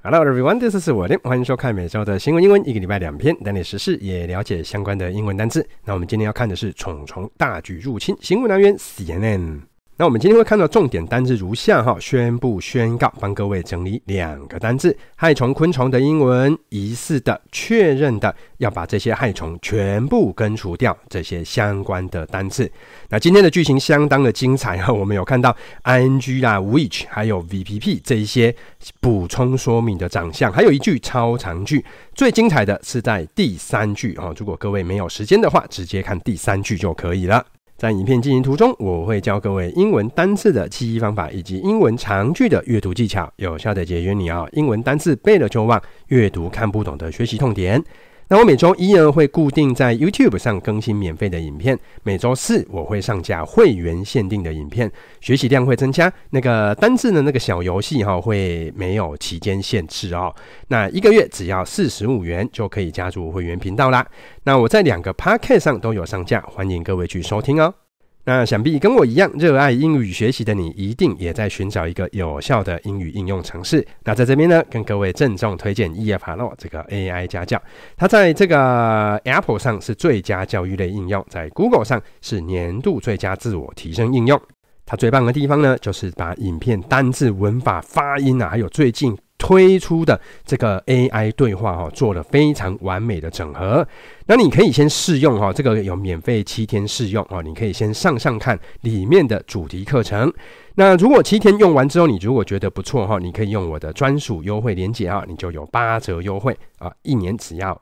Hello everyone, this is 我的，歡迎收看每周的新聞英文，一個禮拜2篇，帶你時事也了解相關的英文單字。那我們今天要看的是蟲蟲大舉入侵，新聞來源 CNN。那我們今天會看到重點單字如下哈，宣布宣告，幫各位整理2個單字，害蟲昆蟲的英文，疑似的、確認的，要把這些害蟲全部根除掉，這些相關的單字。那今天的劇情相當的精彩哈，我們有看到 ing 啦、which 還有 VPP 這一些補充說明的長項，還有一句超長句。最精彩的是在第3句哈，如果各位沒有時間的話，直接看第3句就可以了。在影片进行途中，我會教各位英文單字的記憶方法，以及英文長句的閱讀技巧，有效的解決你英文單字背了就忘，閱讀看不懂的學習痛點。那我每周一呢會固定在 YouTube 上更新免費的影片，每周4我會上架會員限定的影片，學習量會增加。那個單字的那個小遊戲會沒有期間限制哦。那1個月只要45元就可以加入會員頻道啦。那我在2個 Podcast 上都有上架，歡迎各位去收聽哦。那想必跟我一樣熱愛英語學習的你，一定也在尋找一個有效的英語應用程式。那在這邊呢，跟各位鄭重推薦 EFHello 這個 AI 家教，它在這個 Apple 上是最佳教育類應用，在 Google 上是年度最佳自我提升應用。它最棒的地方呢，就是把影片單字、文法、發音還有最近推出的這個 AI 對話做了非常完美的整合。那你可以先試用這個有免費7天試用你可以先上看裡面的主題課程。那如果7天用完之後，你如果覺得不錯你可以用我的專屬優惠連結你就有8折優惠1年只要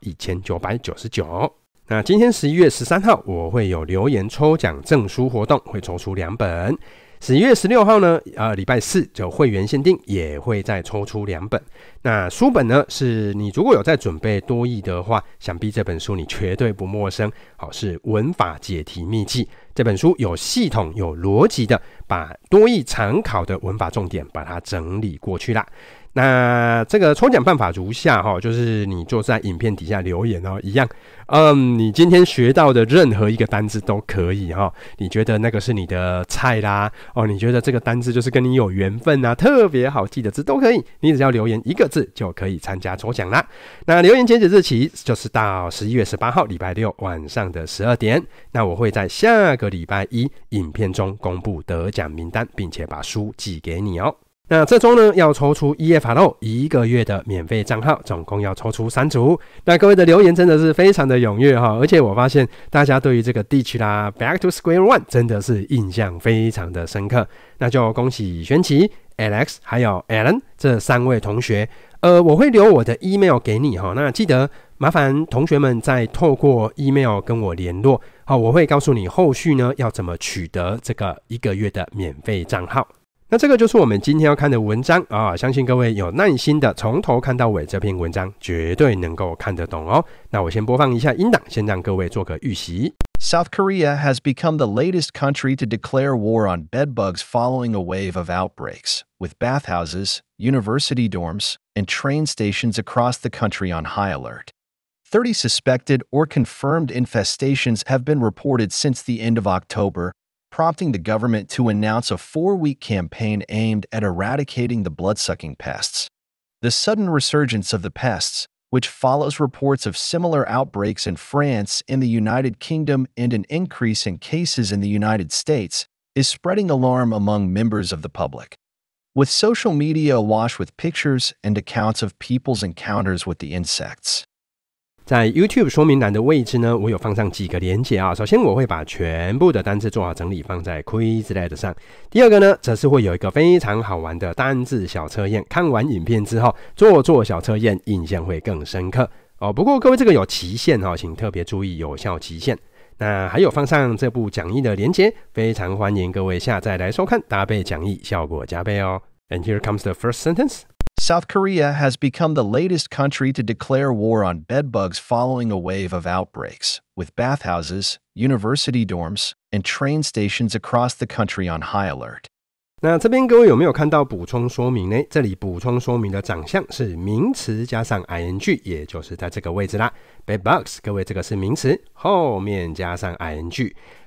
1999。那今天11月13號我會有留言抽獎證書活動，會抽出2本。11月16號呢，禮拜4就會員限定，也會再抽出2本。那書本呢，是你如果有在準備多益的話，想必這本書你絕對不陌生。是文法解題秘技。這本書有系統、有邏輯的，把多益常考的文法重點把它整理過去啦。那這個抽獎辦法如下就是你就在影片底下留言一樣，你今天學到的任何一個單字都可以你覺得那個是你的菜啦你覺得這個單字就是跟你有緣分啊，特別好記的字都可以，你只要留言1個字就可以參加抽獎啦。那留言截止日期就是到11月18號禮拜6晚上的12點。那我會在下個禮拜1影片中公布得獎名單，並且把書寄給你哦。那這週呢，要抽出 EFHello 1個月的免費賬號，總共要抽出3組。那各位的留言真的是非常的踴躍而且我發現大家對於這個 Ditch 啦 Back to Square One 真的是印象非常的深刻。那就恭喜玄奇、Alex 還有 Alan 這3位同學。我會留我的 email 給你那記得麻煩同學們再透過 email 跟我聯絡我會告訴你後續呢要怎麼取得這個1個月的免費賬號。那這個就是我們今天要看的文章相信各位有耐心的從頭看到尾，這篇文章絕對能夠看得懂哦。那我先播放一下音檔，先讓各位做個預習。 South Korea has become the latest country to declare war on bedbugs following a wave of outbreaks, with bathhouses, university dorms, and train stations across the country on high alert. 30 suspected or confirmed infestations have been reported since the end of October, prompting the government to announce a 4-week campaign aimed at eradicating the blood-sucking pests. The sudden resurgence of the pests, which follows reports of similar outbreaks in France, in the United Kingdom, and an increase in cases in the United States, is spreading alarm among members of the public. With social media awash with pictures and accounts of people's encounters with the insects. 在 YouTube 說明欄的位置呢，我有放上幾個連結首先我會把全部的單字做好整理放在 Quizlet 上。第二個呢，則是會有一個非常好玩的單字小測驗，看完影片之後做小測驗，印象會更深刻不過各位這個有期限請特別注意有效期限。那還有放上這部講義的連結，非常歡迎各位下載來收看，搭配講義效果加倍哦。And here comes the first sentence. South Korea has become the latest country to declare war on bedbugs following a wave of outbreaks, with bathhouses, university dorms, and train stations across the country on high alert. 那這邊各位有沒有看到補充說明呢？這裡補充說明的長項是名詞加上 ing， 也就是在這個位置啦。Bedbugs， 各位這個是名詞，後面加上 ing。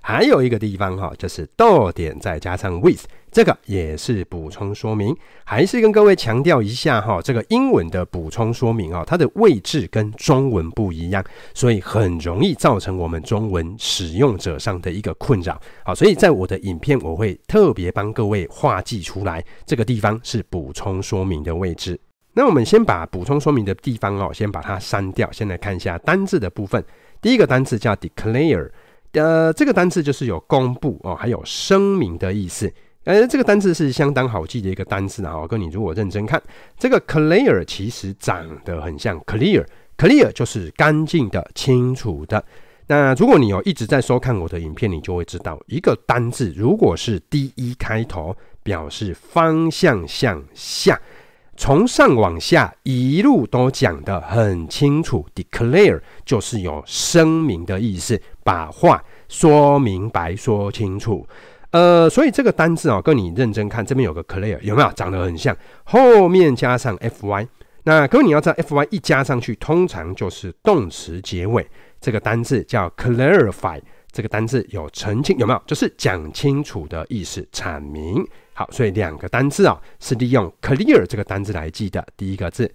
還有一個地方哈，就是逗點再加上 with， 這個也是補充說明。還是跟各位強調一下哈，這個英文的補充說明啊，它的位置跟中文不一樣，所以很容易造成我們中文使用者上的一個困擾。好，所以在我的影片我會特別幫各位畫記出來，這個地方是補充說明的位置。那我們先把補充說明的地方先把它刪掉。先來看一下單字的部分。第一個單字叫 declare。這個單字就是有公布還有聲明的意思。這個單字是相當好記的一個單字啊。跟你如果認真看，這個 clear 其實長得很像 clear 就是乾淨的、清楚的。那如果你有一直在收看我的影片，你就会知道，一個單字如果是 DE 開頭，表示方向向下，從上往下一路都講得很清楚。 declare 就是有聲明的意思，把話說明白說清楚。所以這個單字跟你認真看，這邊有個 clear， 有沒有長得很像？後面加上 fy， 那各位你要知道 fy 一加上去通常就是動詞結尾。這個單字叫 clarify， 這個單字有澄清，有沒有？就是講清楚的意思，闡明。好，所以兩個單字是利用 clear 這個單字來記的。第一個字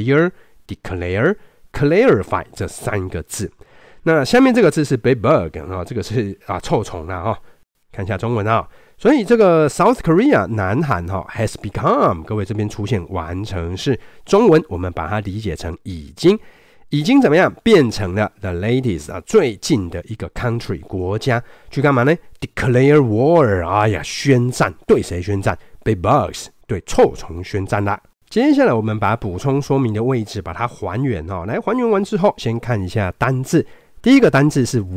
clear、declare、clarify 這三個字。那下面這個字是 bedbug 這個是臭蟲啦看一下中文所以這個 South Korea 南韓has become， 各位這邊出現完成式，中文我們把它理解成已經怎麼樣變成了 the latest 最近的一個 country 國家，去幹嘛呢？ declare war， 宣戰，對誰宣戰？ bedbugs 對臭蟲宣戰啦。接下來我們把補充說明的位置把它還原來還原完之後，先看一下單字。第一個單字是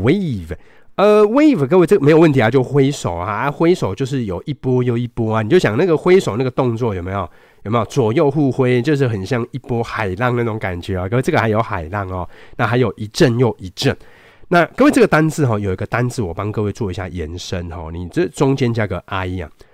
wave。wave 各位這個沒有問題就揮手揮手就是有一波又一波你就想那個揮手那個動作有沒有左右互揮，就是很像一波海浪那種感覺各位這個還有海浪那還有一陣又一陣。那各位這個單字有一個單字我幫各位做一下延伸你這中間加個 i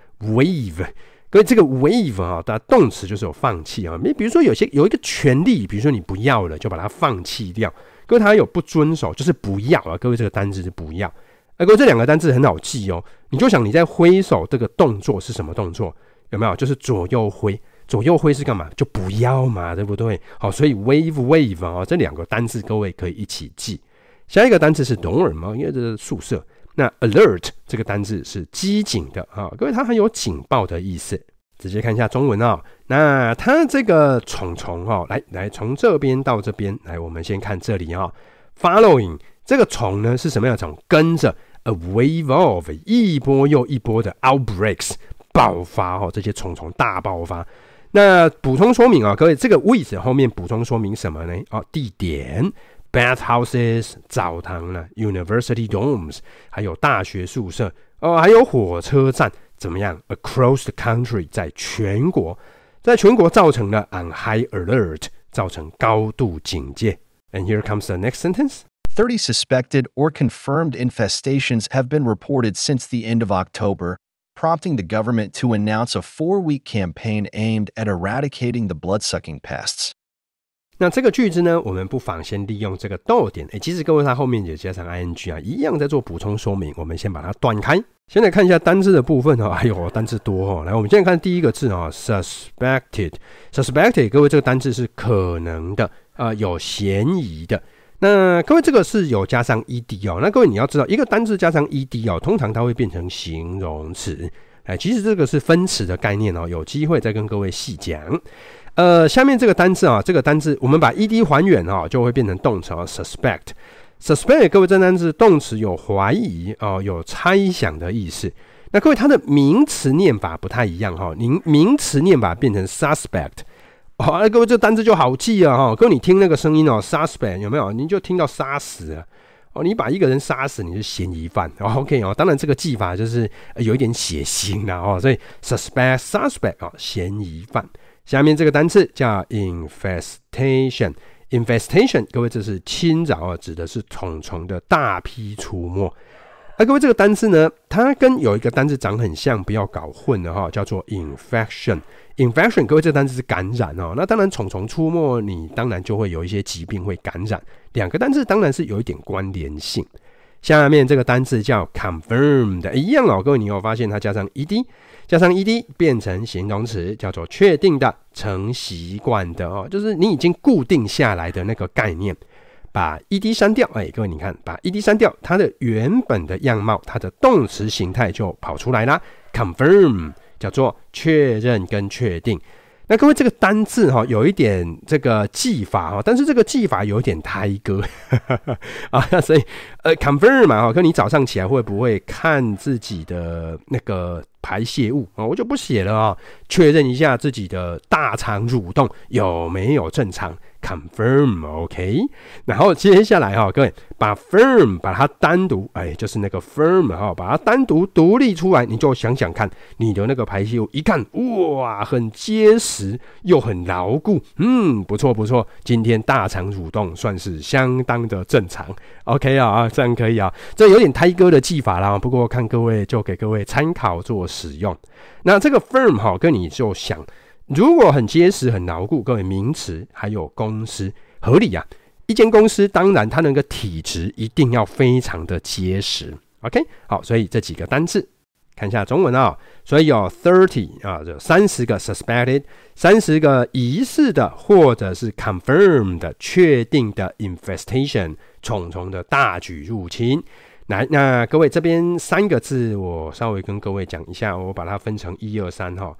wave。各位這個 wave 它動詞就是有放棄比如說有一個權利，比如說你不要了就把它放棄掉。各位它還有不遵守，就是不要各位這個單字是不要。各位這兩個單字很好記你就想你在揮手這個動作是什麼動作？有沒有？就是左右揮。左右揮是幹嘛？就不要嘛，對不對？好，所以 wave 這兩個單字各位可以一起記。下一個單字是 dorm 因為這是宿舍。那 alert 這個單字是機警的各位它很有警報的意思。直接看一下中文那它這個蟲蟲來從這邊到這邊來，我們先看這裡following 這個蟲呢是什麼樣的蟲？跟着 a wave of 一波又一波的 outbreaks 爆發這些蟲蟲大爆發。那補充說明各位這個 with 後面補充說明什麼呢？地點 bathhouses 澡堂啦 university dorms 還有大學宿舍還有火車站。怎麼樣 ？Across the country 在全國造成了 on high alert 造成高度警戒。And here comes the next sentence. 30 suspected or confirmed infestations have been reported since the end of October, prompting the government to announce a 4-week campaign aimed at eradicating the blood-sucking pests. 那這個句子呢，我們不妨先利用這個逗點。其實各位它後面也加上 ing 一樣在做補充說明。我們先把它斷開。先來看一下單字的部分哎呦，單字多來，我們先來看第一個字suspected。各位這個單字是可能的有嫌疑的。那各位這個是有加上 ed 那各位你要知道，一個單字加上 ed 通常它會變成形容詞。其實這個是分詞的概念有機會再跟各位細講。下面這個單字這個單字我們把 ed 還原就會變成動詞suspect。各位這單字動詞有懷疑有猜想的意思。那各位它的名詞念法不太一樣名詞念法變成 suspect。各位這單字就好記各位你聽那個聲音suspect 有沒有？你就聽到殺死了你把一個人殺死，你是嫌疑犯OK 當然這個記法就是有一點血腥啦所以 suspect 嫌疑犯。下面這個單字叫 infestation。各位這是侵擾指的是蟲蟲的大批出沒。各位這個單字呢，它跟有一個單字長很像，不要搞混了叫做 infection。各位這個單字是感染那當然蟲蟲出沒，你當然就會有一些疾病會感染。兩個單字當然是有一點關聯性。 下面這個單字叫 confirmed， 一樣哦，各位你有發現它加上 ed 變成形容詞，叫做確定的、成習慣的哦，就是你已經固定下來的那個概念。把 ed 刪掉，各位你看，把 ed 刪掉，它的原本的樣貌，它的動詞形態就跑出來啦。confirm 叫做確認跟確定。那各位這個單字有一點這個記法，但是這個記法有一點胎歌啊，所以confirm 嘛，跟你早上起來會不會看自己的那個排泄物我就不寫了確認一下自己的大腸蠕動有沒有正常。confirm OK， 然後接下來各位把 firm 把它單獨就是那個 firm 把它單獨獨立出來，你就想想看你的那個排泄物，一看哇很結實又很牢固，不錯，今天大腸蠕動算是相當的正常 OK 這樣可以這有點胎歌的技法啦，不過看各位就給各位參考做使用。那這個 firm 跟你就想，如果很結實很牢固，各位名詞還有公司合理一間公司當然它那個體質一定要非常的結實 OK 好，所以這幾個單字看一下中文所以有30就30個 suspected 30個疑似的或者是 confirmed 確定的 infestation 蟲蟲的大舉入侵。來，那各位這邊3個字我稍微跟各位講一下，我把它分成1、2、3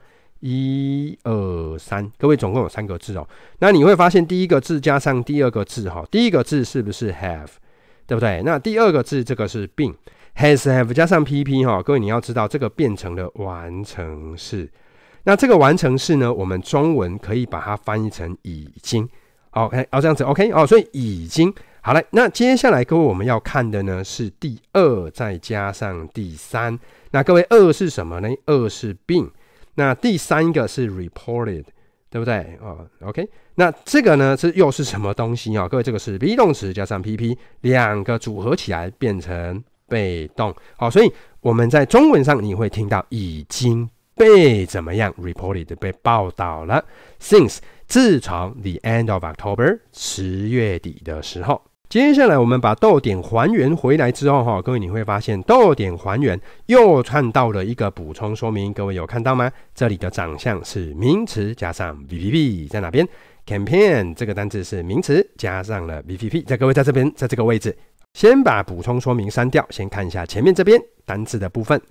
1、2、3，各位總共有3個字那你會發現第一個字加上第二個字第一個字是不是 have， 對不對？那第二個字這個是 been has have 加上 pp 各位你要知道這個變成了完成式。那這個完成式呢，我們中文可以把它翻譯成已經。OK 這樣子 OK 所以已經好了。那接下來各位我們要看的呢是第2再加上第3。那各位2是什麼呢？2是 been。那第3個是 reported， 對不對？OK， 那這個呢又是什麼東西各位這個是 be 動詞加上 pp， 兩個組合起來變成被動。所以我們在中文上你會聽到已經被怎麼樣 reported 被報道了。Since 自從 the end of October 10月底的時候。接下來我們把逗點還原回來之後各位你會發現逗點還原又看到了一個補充說明，各位有看到嗎？這裡的長相是名詞加上 VVP 在哪邊？ campaign 這個單字是名詞加上了 VVP， 在各位在這邊，在這個位置。先把補充說明刪掉，先看一下前面這邊單字的部分。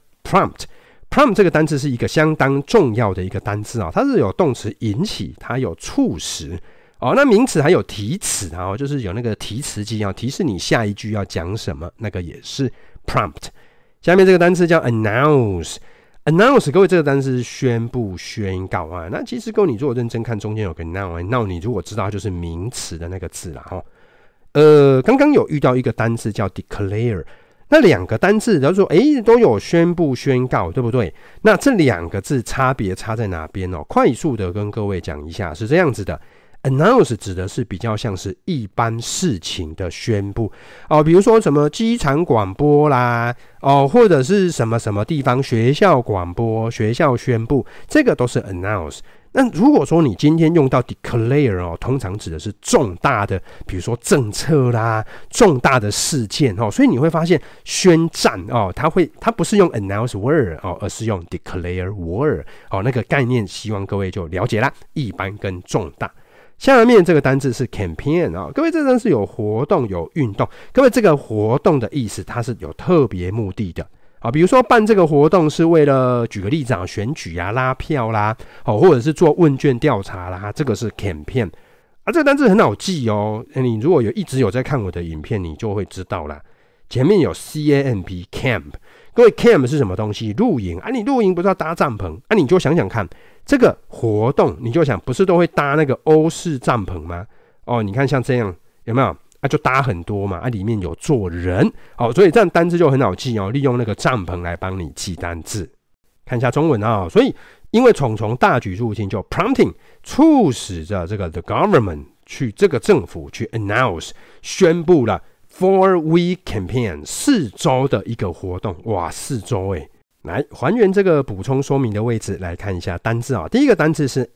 prompt 這個單字是一個相當重要的一個單字它是有動詞引起，它有促使那名詞還有提詞就是有那個提詞機提示你下一句要講什麼，那個也是 prompt。 下面這個單詞叫 announce， 各位這個單詞是宣布宣告那其實各位你如果認真看中間有個 now 你如果知道它就是名詞的那個字啦剛剛有遇到一個單字叫 declare， 那兩個單字都說都有宣布宣告，对不對？那這兩個字差別差在哪邊快速的跟各位講一下，是這樣子的。Announce 指的是比較像是一般事情的宣布比如說什麼機場廣播啦或者是什麼什麼地方學校廣播、學校宣布，這個都是 announce。那如果說你今天用到 declare 通常指的是重大的，比如說政策啦、重大的事件所以你會發現宣戰它不是用 announce word 而是用 declare word 那個概念希望各位就了解啦，一般跟重大。下面這個單字是 campaign 各位這個單字有活動有運動，各位這個活動的意思它是有特別目的的比如說辦這個活動是為了舉個例子選舉拉票啦或者是做問卷調查啦，這個是 campaign 這個單字很好記你如果一直有在看我的影片你就會知道啦，前面有 camp camp， 各位 camp 是什麼東西？露營你露營不是要搭帳篷你就想想看這個活動，你就想不是都會搭那個歐式帳篷嗎？你看像這樣有沒有就搭很多嘛裡面有坐人所以這樣單字就很好記利用那個帳篷來幫你記單字。看一下中文所以因為蟲蟲大舉入侵，就 prompting 促使着這個 the government 去這個政府去 announce 宣布了 4-week campaign 4週的一個活動。哇，4週來還原這個補充說明的位置，來看一下單字第一個單字是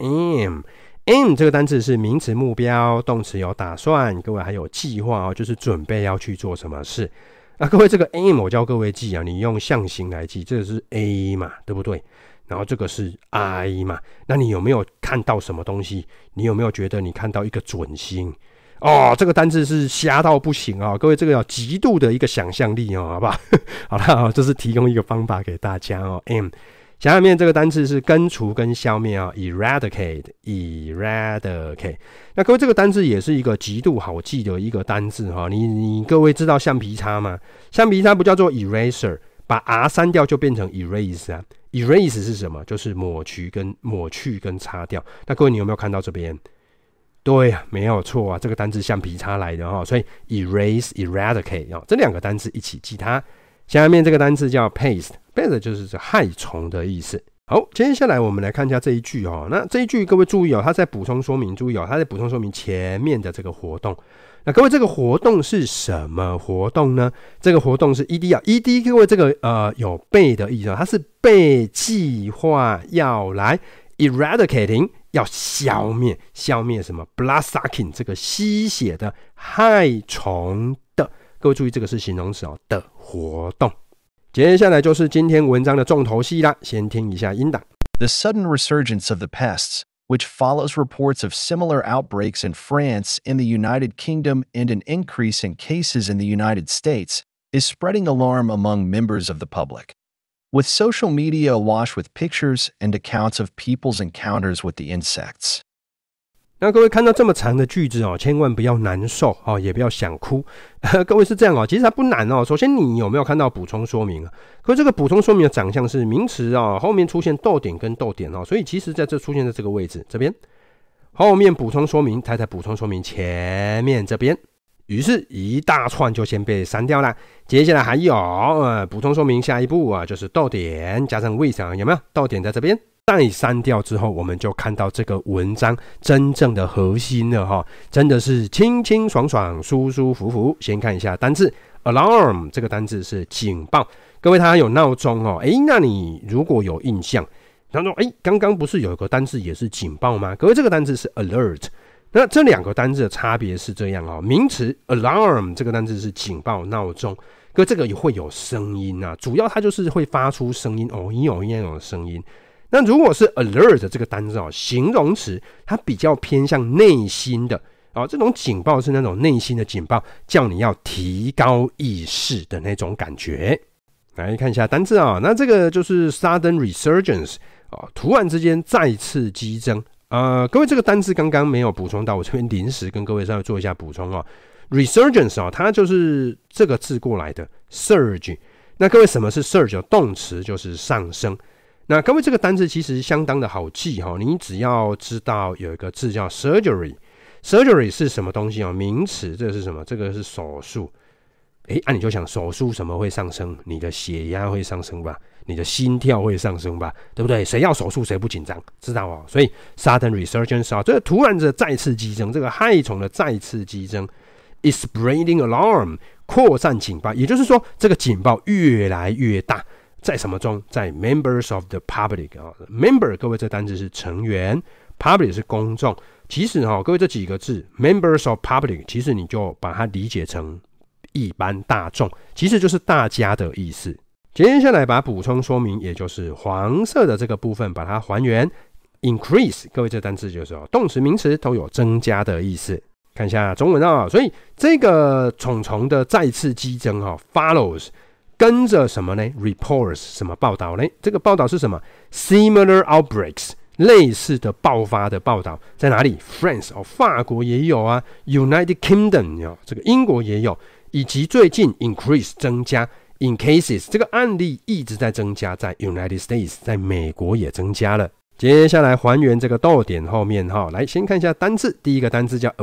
aim 這個單字是名詞目標，動詞有打算，各位還有計劃就是準備要去做什麼事。 各位這個 M 我教各位記啊，你用象形來記，這個是 A 嘛，對不對？然後這個是 I 嘛，那你有沒有看到什麼東西？你有沒有覺得你看到一個準星？這個單字是瞎到不行啊！各位這個要極度的一個想象力好不好？好了，這是提供一個方法給大家M。下面這個單字是根除跟消滅eradicate。那各位這個單字也是一個極度好記的一個單字你各位知道橡皮擦嗎？橡皮擦不叫做 eraser， 把 R 刪掉就變成 erase 啊。erase 是什麼？就是抹去跟擦掉。那各位你有沒有看到這邊？對啊，沒有錯啊，這個單字橡皮擦來的所以 eradicate 這兩個單字一起記它。下面這個單字叫 pest 就是害蟲的意思。好，接下來我們來看一下這一句那這一句各位注意它在補充說明，注意它在補充說明前面的這個活動。那各位这個活動是什麼活動呢？這個活動是 ED 各位這個有被的意思它是被計劃要來 eradicating 要消滅什麼 bloodsucking 這個吸血的害蟲的。各位注意這個是形容詞的活動。接下來就是今天文章的重頭戲啦，先聽一下音檔。 The sudden resurgence of the pests, which follows reports of similar outbreaks in France, in the United Kingdom, and an increase in cases in the United States, is spreading alarm among members of the public. With social media awash with pictures and accounts of people's encounters with the insects. 那各位看到這麼長的句子千萬不要難受也不要想哭。各位是這樣其實它不難首先你有沒有看到補充說明各位這個補充說明的長相是名詞後面出現逗點跟逗點所以其實在這出現在這個位置這邊，後面補充說明它在補充說明前面這邊，於是一大串就先被刪掉了。接下來還有補充說明下一步就是逗點加上 with 有沒有？逗點在這邊。再刪掉之後，我們就看到這個文章真正的核心了真的是清清爽爽、舒舒服服。先看一下單字 alarm， 這個單字是警報。各位，它有鬧鐘那你如果有印象，他說剛剛不是有一個單字也是警報嗎？各位，這個單字是 alert。那這兩個單字的差別是這樣名詞 alarm 這個單字是警報、鬧鐘，各位這個也會有聲音主要它就是會發出聲音那種聲音。那如果是 alert 這個單字形容詞，它比較偏向內心的這種警報是那種內心的警報，叫你要提高意識的那種感覺。來看一下單字那這個就是 sudden resurgence 突然之間再次激增。各位這個單字剛剛沒有補充到，我這邊臨時跟各位稍微做一下補充resurgence 它就是這個字過來的 surge。那各位什麼是 surge？ 動詞就是上升。那各位這個單字其實相當的好記你只要知道有一個字叫 surgery 是什麼東西名詞，這個是什麼？這個是手術。你就想手術什麼會上升？你的血壓會上升吧，你的心跳會上升吧，對不对？誰要手術誰不緊張？知道所以 sudden resurgence 這個突然的再次激增，這個害蟲的再次激增 is spreading alarm 擴散警報，也就是說這個警報越來越大。在什麼中？在 members of the public member 各位這單字是成員， public 是公眾。其實各位這幾個字 members of public 其實你就把它理解成一般大眾，其實就是大家的意思。接下來把補充說明，也就是黃色的這個部分把它還原 increase 各位這單字就是動詞名詞都有增加的意思。看一下中文所以這個蟲的再次激增follows跟着什麼呢 ？reports 什麼報道呢？這個報道是什麼 ？similar outbreaks 類似的爆發的報道在哪裡 ？France 法國也有United Kingdom 這個英國也有，以及最近 increase 增加 in cases 這個案例一直在增加，在 United States 在美國也增加了。接下來還原這個逗點後面來先看一下單字，第一個單字叫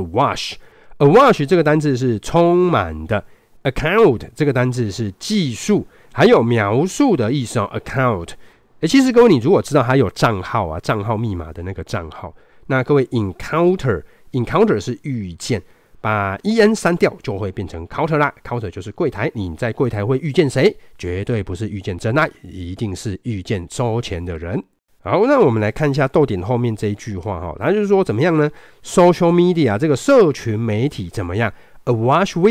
awash 這個單字是充滿的。account 這個單字是記述還有描述的意思account。其實各位你如果知道它有賬號賬號密碼的那個賬號，那各位 encounter 是遇見，把 en 刪掉就會變成 counter 啦。counter 就是櫃檯，你在櫃檯會遇見誰？絕對不是遇見真愛，一定是遇見收錢的人。好，那我們來看一下逗點後面這一句話它就是說怎麼樣呢？ social media 這個社群媒體怎麼樣？awash with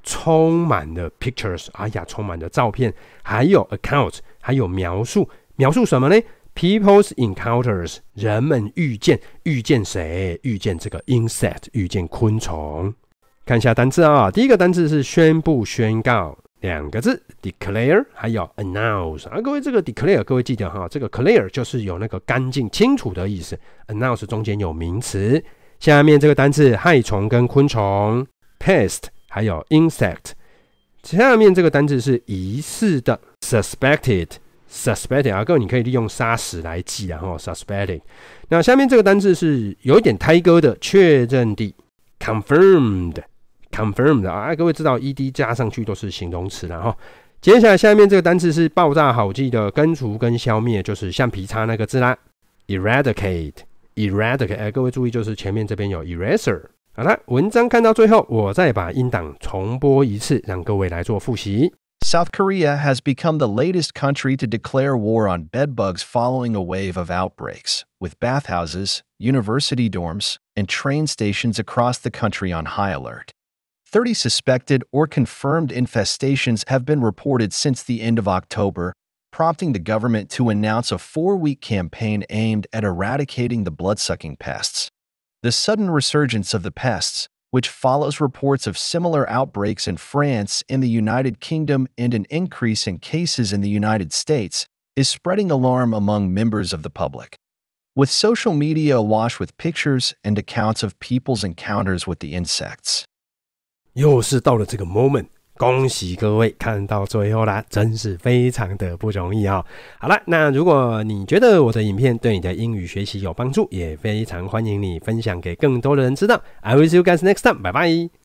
充滿了 pictures， 充滿了照片，還有 account， 還有描述什麼呢？ People's encounters， 人們遇見誰？遇見這個 insect， 遇見昆蟲。看一下單字啊，第一個單字是宣布、宣告，兩個字 declare， 還有 announce。各位這個 declare， 各位記得哈，這個 clear 就是有那個乾淨、清楚的意思 ，announce 中間有名詞。下面這個單字害蟲跟昆蟲 pest， 還有 insect。下面這個單字是疑似的 suspected。各位你可以利用殺死來記suspected。那下面這個單字是有一點胎歌的，確認的 confirmed。各位知道 ed 加上去都是形容詞了哈。接下來下面這個單字是爆炸好記的，根除跟消滅就是橡皮擦那個字啦 eradicate。各位注意，就是前面這邊有 eraser。好了，文章看到最後，我再把音檔重播一次，讓各位來做複習。 South Korea has become the latest country to declare war on bedbugs following a wave of outbreaks, with bathhouses, university dorms, and train stations across the country on high alert. 30 suspected or confirmed infestations have been reported since the end of October, prompting the government to announce a 4-week campaign aimed at eradicating the blood-sucking pests. The sudden resurgence of the pests, which follows reports of similar outbreaks in France, in the United Kingdom, and an increase in cases in the United States, is spreading alarm among members of the public. With social media awash with pictures and accounts of people's encounters with the insects. 又是到了這個 moment， 恭喜各位看到最後啦，真是非常的不容易哦。好了，那如果你覺得我的影片对你的英語學習有幫助，也非常歡迎你分享給更多的人知道。I will see you guys next time， 拜拜。